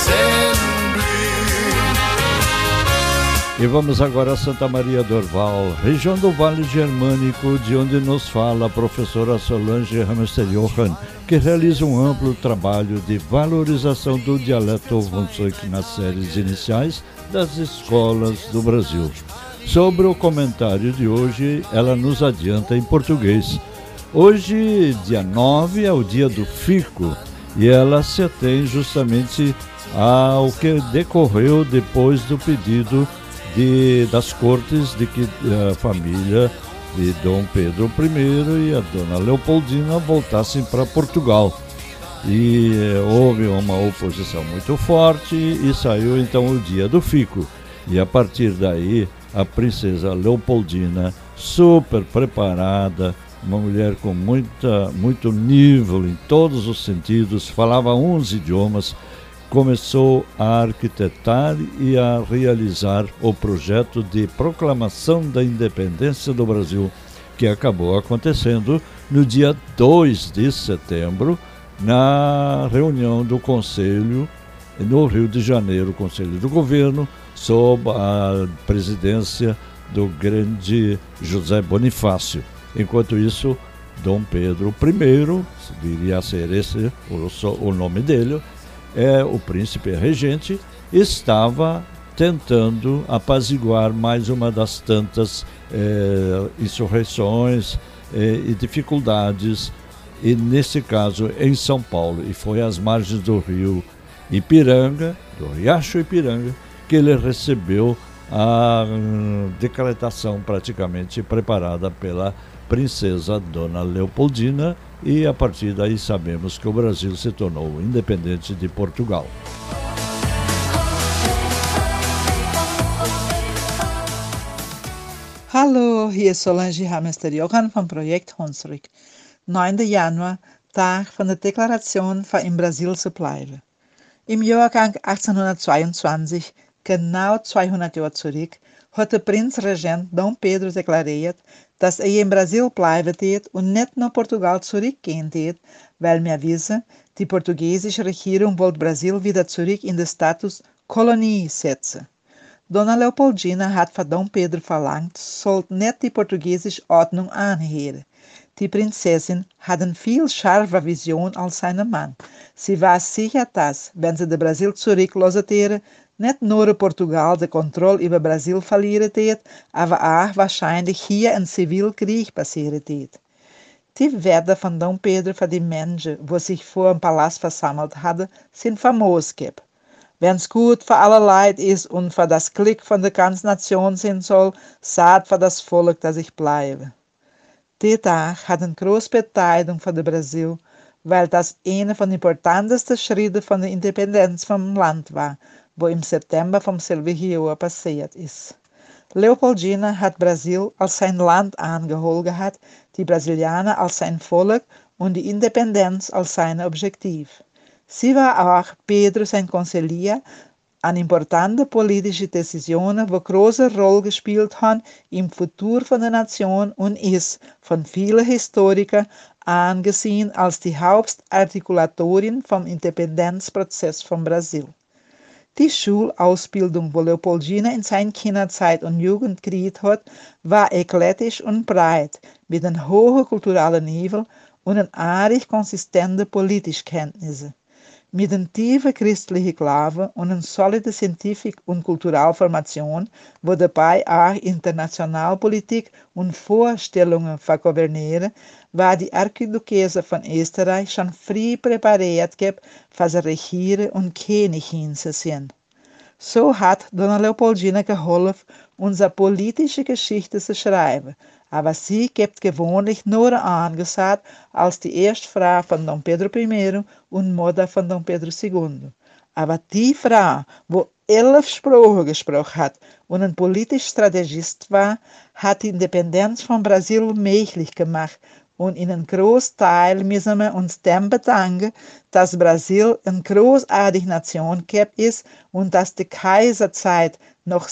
E vamos agora a Santa Maria do Orval, região do Vale Germânico, de onde nos fala a professora Solange Hamster-Johann, que realiza um amplo trabalho de valorização do dialeto Hunsrück nas séries iniciais das escolas do Brasil. Sobre o comentário de hoje, ela nos adianta em português. Hoje, dia 9, é o dia do fico, e ela se atém justamente ao que decorreu depois do pedido das cortes de que a família de Dom Pedro I e a Dona Leopoldina voltassem para Portugal. E houve uma oposição muito forte e saiu então o dia do fico. E a partir daí, a princesa Leopoldina, super preparada, uma mulher com muito nível em todos os sentidos, falava 11 idiomas, começou a arquitetar e a realizar o projeto de proclamação da independência do Brasil, que acabou acontecendo no dia 2 de setembro, na reunião do Conselho, no Rio de Janeiro, Conselho do Governo, sob a presidência do grande José Bonifácio. Enquanto isso, Dom Pedro I, viria a ser esse o nome dele, o príncipe regente, estava tentando apaziguar mais uma das tantas insurreições e dificuldades, e nesse caso em São Paulo, e foi às margens do rio Ipiranga, do Riacho Ipiranga, que ele recebeu a decretação praticamente preparada pela princesa Dona Leopoldina, e a partir daí sabemos que o Brasil se tornou independente de Portugal. Hallo, hier ist Solange Hamster-Johann vom Projekt Hunsrück. 9. Januar, Tag van de Deklaration van in Brasil zu bleiben. Im Jahrgang 1822, genau 200 Jahre zurück, hat der Prinzregent Dom Pedro deklariert, dass in Brasil bleiben wird und nicht nach Portugal zurückgehen wird, weil wir wissen, die portugiesische Regierung wollte Brasil wieder zurück in den Status Kolonie setzen. Dona Leopoldina hat von Dom Pedro verlangt, sollte nicht die portugiesische Ordnung anhören. Die Prinzessin hat eine viel scharfe Vision als sein Mann. Sie war sicher, dass, wenn sie de Brasil zurücklassen würde, nicht nur Portugal de Kontrolle über Brasil verlieren wird, aber auch wahrscheinlich hier ein Zivilkrieg passieren wird. Die Werte von Dom Pedro für die Menschen, die sich vor dem Palast versammelt hatten, sind famos. Wenn es gut für alle Leute ist und für das Glück von der ganzen Nation sein soll, sagt für das Volk, dass ich bleibe. Der Tag hat eine große Bedeutung für das Brasil, weil das einer von den importantesten Schritten von der Independenz vom Land war, wo im September vom selben Jahr passiert ist. Leopoldina had Brasil als zijn land aangeholt gehad, die Brasilianen als zijn volk und die Independenz als sein Objektiv. Sie war auch Pedro sein Conseller an importante politische Decisionen, wo große Rolle gespielt haben im Futur von der Nation und ist von vielen Historikern angesehen als die Hauptartikulatorin vom Independenzprozess von Brasil. Die Schulausbildung, wo Leopoldina in seiner Kinderzeit und Jugend gekriegt hat, war eklektisch und breit, mit einem hohen kulturellen Niveau und einer aardig konsistenten politischen Kenntnisse. Mit einer tiefen christlichen Glaube und einer soliden scientific und kulturellen Formation, wo dabei auch Internationalpolitik und Vorstellungen vergovernieren, war die Archiduchesse von Österreich schon früh präpariert für das Regieren und Königin zu sein. So hat Dona Leopoldina geholfen, unsere politische Geschichte zu schreiben, aber sie gibt gewöhnlich nur angesagt als die erste Frau von Dom Pedro I und Mutter von Dom Pedro II. Aber die Frau, wo 11 Sprachen gesprochen hat und ein politischer Strategist war, hat die Independenz von Brasil möglich gemacht. Und in einem großen Teil müssen wir uns dem bedanken, dass Brasil eine großartige Nation ist und dass die Kaiserzeit noch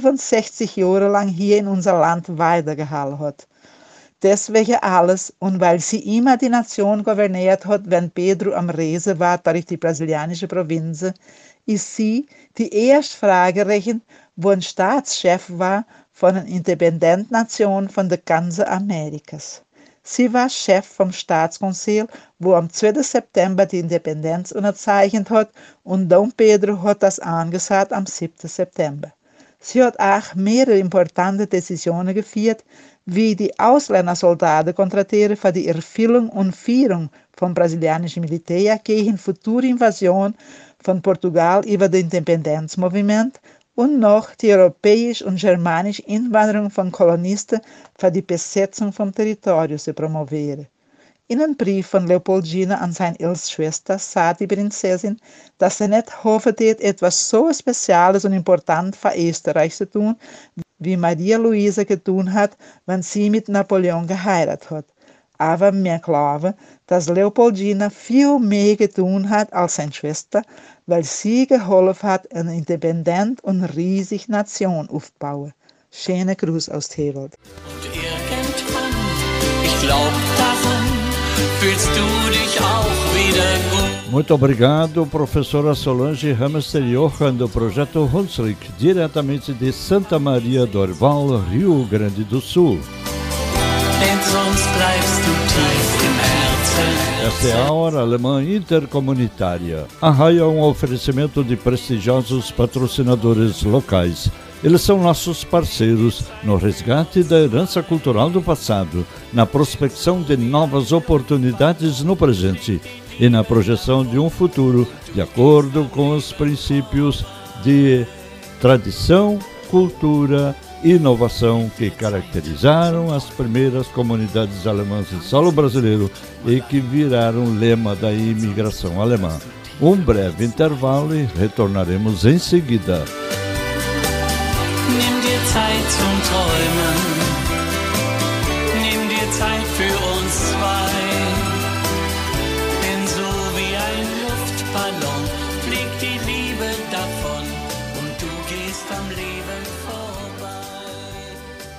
67 Jahre lang hier in unser Land weitergehalten hat. Deswegen alles und weil sie immer die Nation gouverniert hat, wenn Pedro am Reisen war durch die brasilianische Provinzen, ist sie die erste Fragerin, wo ein Staatschef war von einer Independentnation von der ganzen Amerikas. Sie war Chef vom Staatskonseil, wo am 2. September die Independenz unterzeichnet hat und Dom Pedro hat das angesagt am 7. September. Sie hat auch mehrere importante Decisionen geführt, wie die Ausländersoldaten kontratieren für die Erfüllung und Führung vom brasilianischen Militär gegen future Invasion von Portugal über das Independenzmovement und noch die europäische und germanische Einwanderung von Kolonisten für die Besetzung vom Territorium zu promovieren. In einem Brief von Leopoldina an seine älteste Schwester sagt die Prinzessin, dass sie nicht hofft, etwas so Spezielles und Importantes für Österreich zu tun, wie Maria Luisa getan hat, wenn sie mit Napoleon geheiratet hat. Aber wir glauben, dass Leopoldina viel mehr getan hat als seine Schwester, weil sie geholfen hat, eine independent und riesige Nation aufzubauen. Schöne Gruß aus Tewald. Und irgendwann, ich glaub daran, fühlst du dich auch wieder gut. Muito obrigado, professora Solange Hamster Johan, do projeto Hunsrück, diretamente de Santa Maria do Orval, Rio Grande do Sul. Denn sonst bleibst du tief im Herzen. Esta é a Hora Alemã Intercomunitária. A RAI é um oferecimento de prestigiosos patrocinadores locais. Eles são nossos parceiros no resgate da herança cultural do passado, na prospecção de novas oportunidades no presente e na projeção de um futuro de acordo com os princípios de tradição, cultura e inovação que caracterizaram as primeiras comunidades alemãs em solo brasileiro e que viraram lema da imigração alemã. Um breve intervalo e retornaremos em seguida. Nimm dir Zeit zum Träumen, nimm dir Zeit für uns zwei, denn so wie ein Luftballon fliegt die Liebe davon und du gehst am Leben vorbei.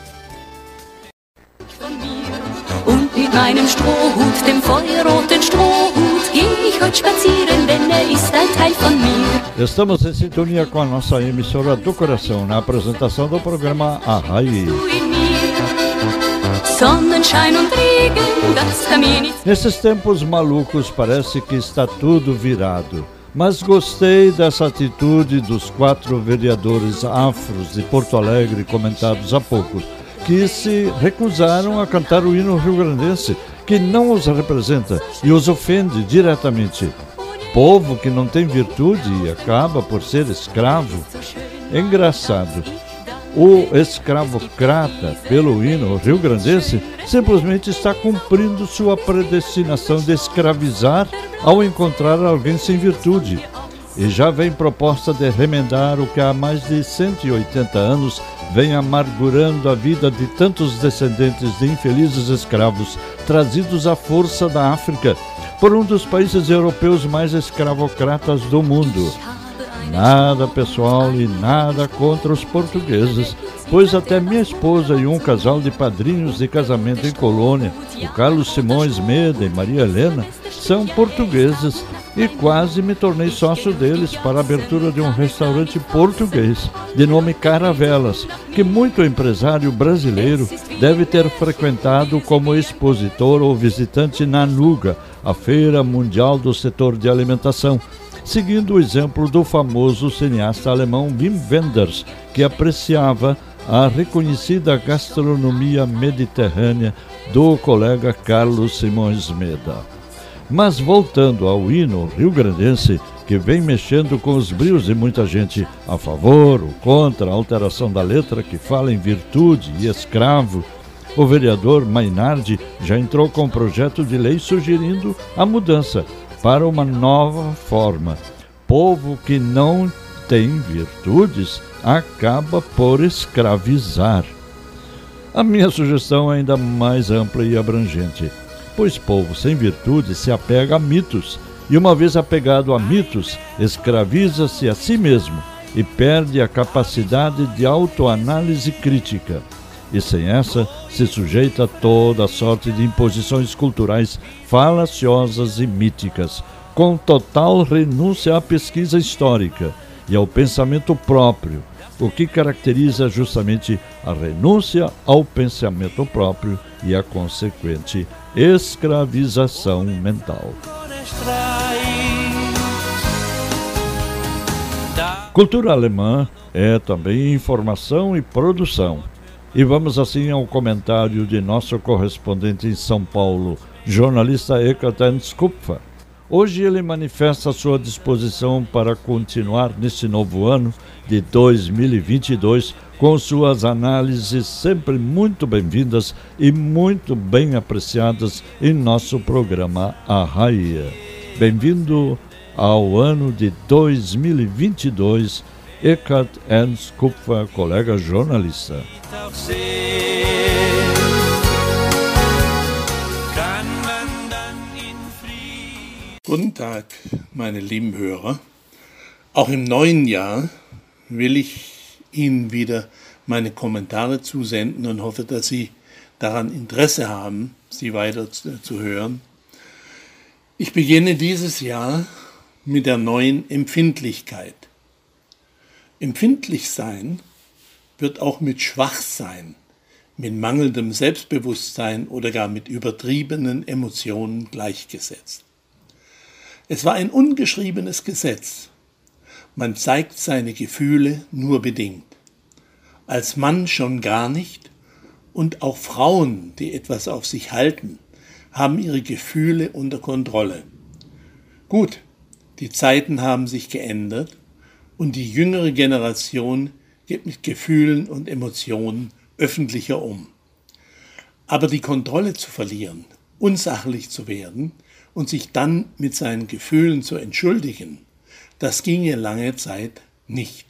Von mir und mit meinem Strohhut, dem feuerroten Strohhut, geh ich heute spazieren, denn ist ein Teil von mir. Estamos em sintonia com a nossa emissora do coração na apresentação do programa A RAI. Nesses tempos malucos parece que está tudo virado, mas gostei dessa atitude dos 4 vereadores afros de Porto Alegre comentados há pouco, que se recusaram a cantar o hino rio-grandense, que não os representa e os ofende diretamente. Povo que não tem virtude e acaba por ser escravo. É engraçado. O escravocrata, pelo hino rio-grandense, simplesmente está cumprindo sua predestinação de escravizar ao encontrar alguém sem virtude. E já vem proposta de remendar o que há mais de 180 anos vem amargurando a vida de tantos descendentes de infelizes escravos trazidos à força da África por um dos países europeus mais escravocratas do mundo. Nada pessoal e nada contra os portugueses, pois até minha esposa e um casal de padrinhos de casamento em Colônia, o Carlos Simões Meda e Maria Helena, são portugueses e quase me tornei sócio deles para a abertura de um restaurante português de nome Caravelas, que muito empresário brasileiro deve ter frequentado como expositor ou visitante na NUGA, a Feira Mundial do Setor de Alimentação, seguindo o exemplo do famoso cineasta alemão Wim Wenders, que apreciava a reconhecida gastronomia mediterrânea do colega Carlos Simões Meda. Mas voltando ao hino rio-grandense, que vem mexendo com os brios de muita gente a favor ou contra a alteração da letra que fala em virtude e escravo, o vereador Mainardi já entrou com um projeto de lei sugerindo a mudança para uma nova forma. Povo que não tem virtudes acaba por escravizar. A minha sugestão é ainda mais ampla e abrangente, pois povo sem virtude se apega a mitos, e uma vez apegado a mitos, escraviza-se a si mesmo e perde a capacidade de autoanálise crítica. E sem essa, se sujeita a toda sorte de imposições culturais falaciosas e míticas, com total renúncia à pesquisa histórica e ao pensamento próprio, o que caracteriza justamente a renúncia ao pensamento próprio e a consequente escravização mental. Cultura alemã é também informação e produção. E vamos assim ao comentário de nosso correspondente em São Paulo, jornalista Eckhard Ernst Kupfer. Hoje ele manifesta sua disposição para continuar neste novo ano de 2022 com suas análises sempre muito bem-vindas e muito bem apreciadas em nosso programa Arraia. Bem-vindo ao ano de 2022, Eckhard Ernst Kupfer, colega jornalista. Guten Tag, meine lieben Hörer. Auch im neuen Jahr will ich Ihnen wieder meine Kommentare zusenden und hoffe, dass Sie daran Interesse haben, sie weiter zu hören. Ich beginne dieses Jahr mit der neuen Empfindlichkeit. Empfindlich sein wird auch mit Schwachsein, mit mangelndem Selbstbewusstsein oder gar mit übertriebenen Emotionen gleichgesetzt. Es war ein ungeschriebenes Gesetz. Man zeigt seine Gefühle nur bedingt. Als Mann schon gar nicht, und auch Frauen, die etwas auf sich halten, haben ihre Gefühle unter Kontrolle. Gut, die Zeiten haben sich geändert und die jüngere Generation geht mit Gefühlen und Emotionen öffentlicher um. Aber die Kontrolle zu verlieren, unsachlich zu werden und sich dann mit seinen Gefühlen zu entschuldigen, das ginge lange Zeit nicht.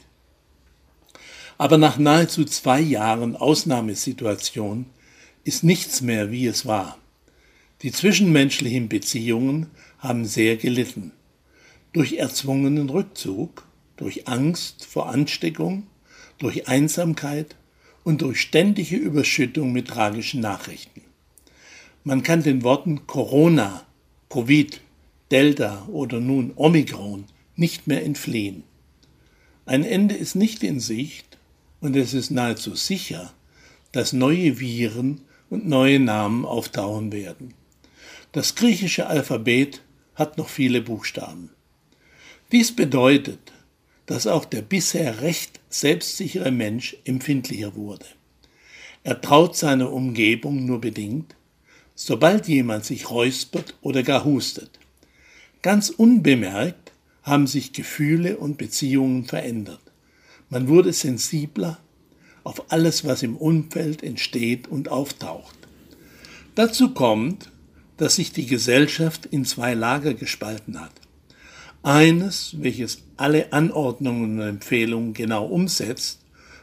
Aber nach nahezu 2 Jahren Ausnahmesituation ist nichts mehr, wie es war. Die zwischenmenschlichen Beziehungen haben sehr gelitten. Durch erzwungenen Rückzug, durch Angst vor Ansteckung, durch Einsamkeit und durch ständige Überschüttung mit tragischen Nachrichten. Man kann den Worten Corona, Covid, Delta oder nun Omikron nicht mehr entfliehen. Ein Ende ist nicht in Sicht und es ist nahezu sicher, dass neue Viren und neue Namen auftauchen werden. Das griechische Alphabet hat noch viele Buchstaben. Dies bedeutet, dass auch der bisher recht selbstsichere Mensch empfindlicher wurde. Er traut seiner Umgebung nur bedingt, sobald jemand sich räuspert oder gar hustet. Ganz unbemerkt haben sich Gefühle und Beziehungen verändert. Man wurde sensibler auf alles, was im Umfeld entsteht und auftaucht. Dazu kommt, dass sich die Gesellschaft in 2 Lager gespalten hat. Eines, welches alle Anordnungen und Empfehlungen genau umsetzt,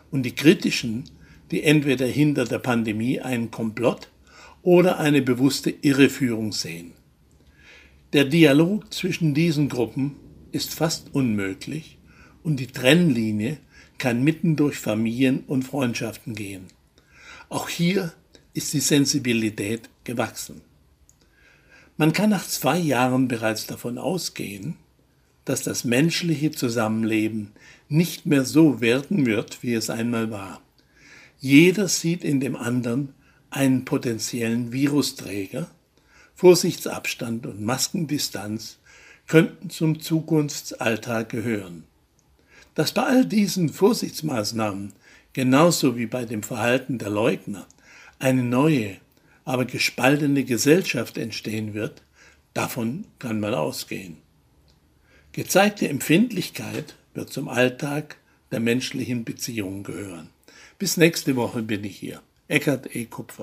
und die kritischen, die entweder hinter der Pandemie einen Komplott oder eine bewusste Irreführung sehen. Der Dialog zwischen diesen Gruppen ist fast unmöglich und die Trennlinie kann mitten durch Familien und Freundschaften gehen. Auch hier ist die Sensibilität gewachsen. Man kann nach 2 Jahren bereits davon ausgehen, dass das menschliche Zusammenleben nicht mehr so werden wird, wie es einmal war. Jeder sieht in dem anderen einen potenziellen Virusträger. Vorsichtsabstand und Maskendistanz könnten zum Zukunftsalltag gehören. Dass bei all diesen Vorsichtsmaßnahmen, genauso wie bei dem Verhalten der Leugner, eine neue, aber gespaltene Gesellschaft entstehen wird, davon kann man ausgehen. Gezeigte Empfindlichkeit wird zum Alltag der menschlichen Beziehungen gehören. Bis nächste Woche bin ich hier. Eckhard E. Kupfer.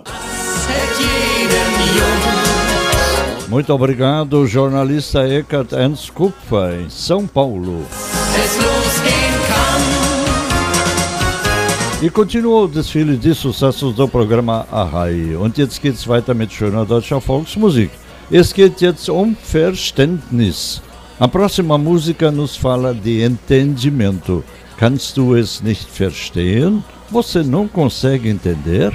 Muito obrigado, jornalista Eckhard Ernst Kupfer, em São Paulo. E continua o desfile de sucessos do programa Arrai. Und jetzt geht's weiter mit schöner deutscher Volksmusik. Es geht jetzt Verständnis. A próxima música nos fala de entendimento. Kannst du es nicht verstehen? Você não consegue entender?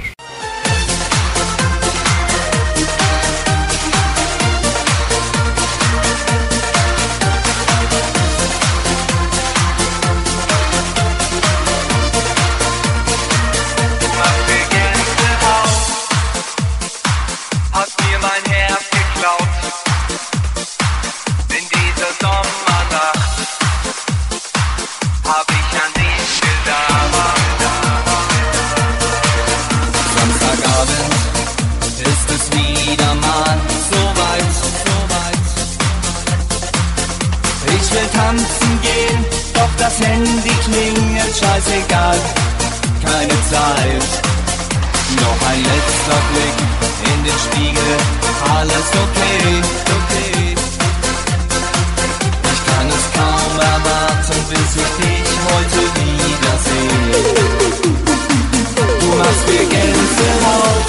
Das Handy klingelt, scheißegal, keine Zeit. Noch ein letzter Blick in den Spiegel, alles okay, okay. Ich kann es kaum erwarten, bis ich dich heute wiedersehe. Du machst mir Gänsehaut,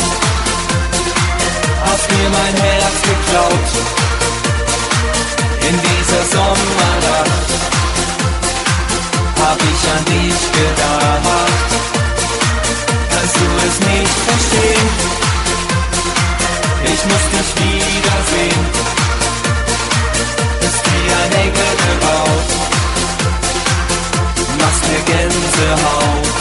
hast mir mein Herz geklaut. In dieser Sommernacht hab ich an dich gedacht. Kannst du es nicht verstehen? Ich muss dich wiedersehen. Bist wie ein Engel gebaut, machst mir Gänsehaut.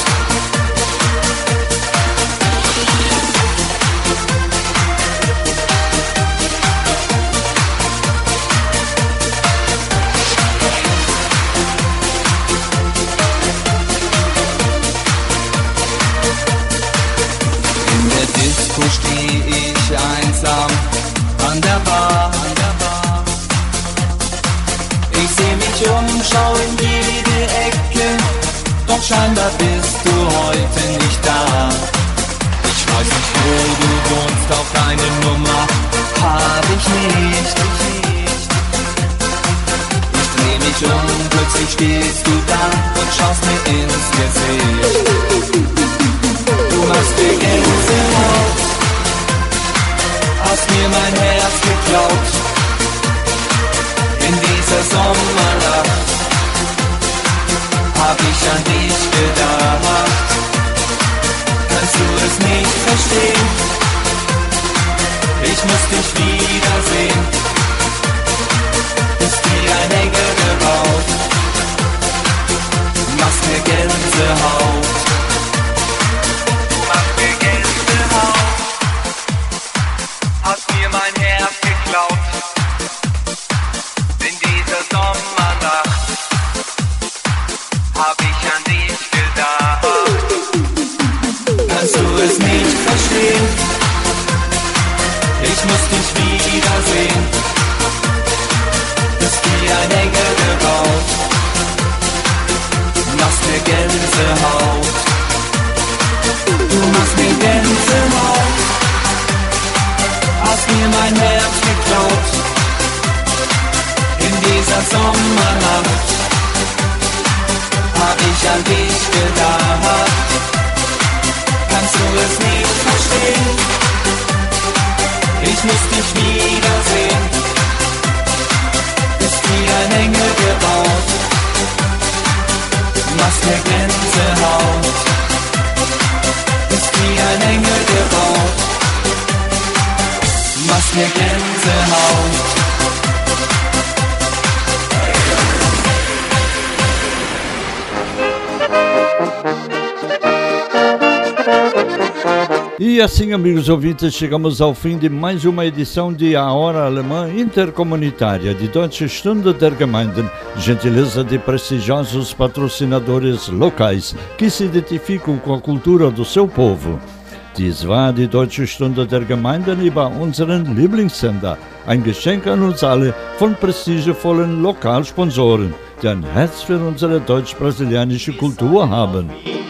Disco steh ich einsam an der Bar. Ich seh mich um, schau in jede Ecke, doch scheinbar bist du heute nicht da. Ich weiß nicht, wo du wohnst, auch deine Nummer hab ich nicht. Ich dreh mich um, plötzlich stehst du da und schaust mir ins Gesicht. Du machst mir Gänsehaut, hast mir mein Herz geklaut. In dieser Sommernacht hab ich an dich gedacht. Kannst du es nicht verstehen? Ich muss dich wiedersehen. Bist wie ein Engel gebaut, machst mir Gänsehaut. Hast mir mein Herz geklaut. In dieser Sommernacht hab ich an dich gedacht. Kannst du es nicht verstehen? Ich muss dich wiedersehen. an dich gedacht. Kannst du es nicht verstehen? Ich muss dich wiedersehen. Bist wie ein Engel gebaut, machst mir Gänsehaut. Bist wie ein Engel gebaut, machst mir Gänsehaut. E assim, amigos ouvintes, chegamos ao fim de mais uma edição de A Hora Alemã Intercomunitária de Deutsche Stunde der Gemeinden, gentileza de prestigiosos patrocinadores locais que se identificam com a cultura do seu povo. Dies war die Deutsche Stunde der Gemeinden über unseren Lieblingssender, ein Geschenk an uns alle von prestigevollen Lokalsponsoren, die ein Herz für unsere deutsch-brasilianische Kultur haben.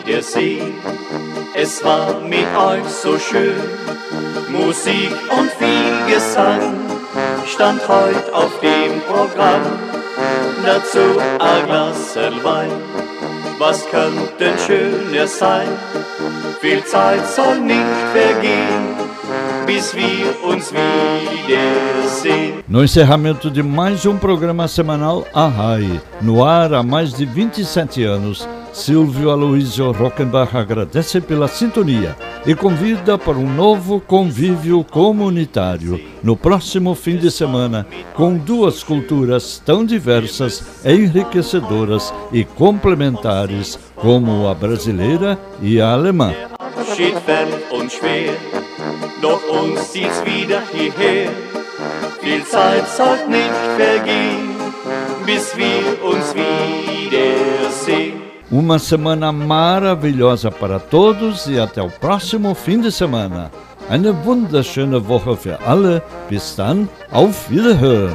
Es war mit euch so schön, Musik und viel Gesang stand heute auf dem Programm. Dazu ein Glas Wein, was könnte schöner sein? Viel Zeit soll nicht vergehen, bis wir uns wiedersehen. No encerramento de mais programa semanal Arrai, no ar há mais de 27 anos, Silvio Aloysio Rockenbach agradece pela sintonia e convida para um novo convívio comunitário no próximo fim de semana, com duas culturas tão diversas, enriquecedoras e complementares como a brasileira e a alemã. Abschied fern und schwer, doch uns zieht's wieder hierher. Viel Zeit soll nicht vergehen, bis wir uns wiedersehen. Uma semana maravilhosa para todos e até o próximo fim de semana. Eine wunderschöne Woche für alle. Bis dann, auf Wiederhören.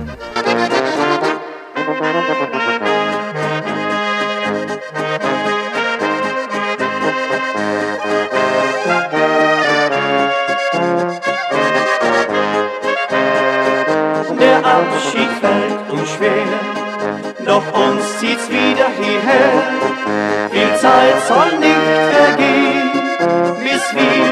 Der Abschied fällt uns schwer, doch uns zieht's wieder hierher. Viel Zeit soll nicht vergehen, bis wir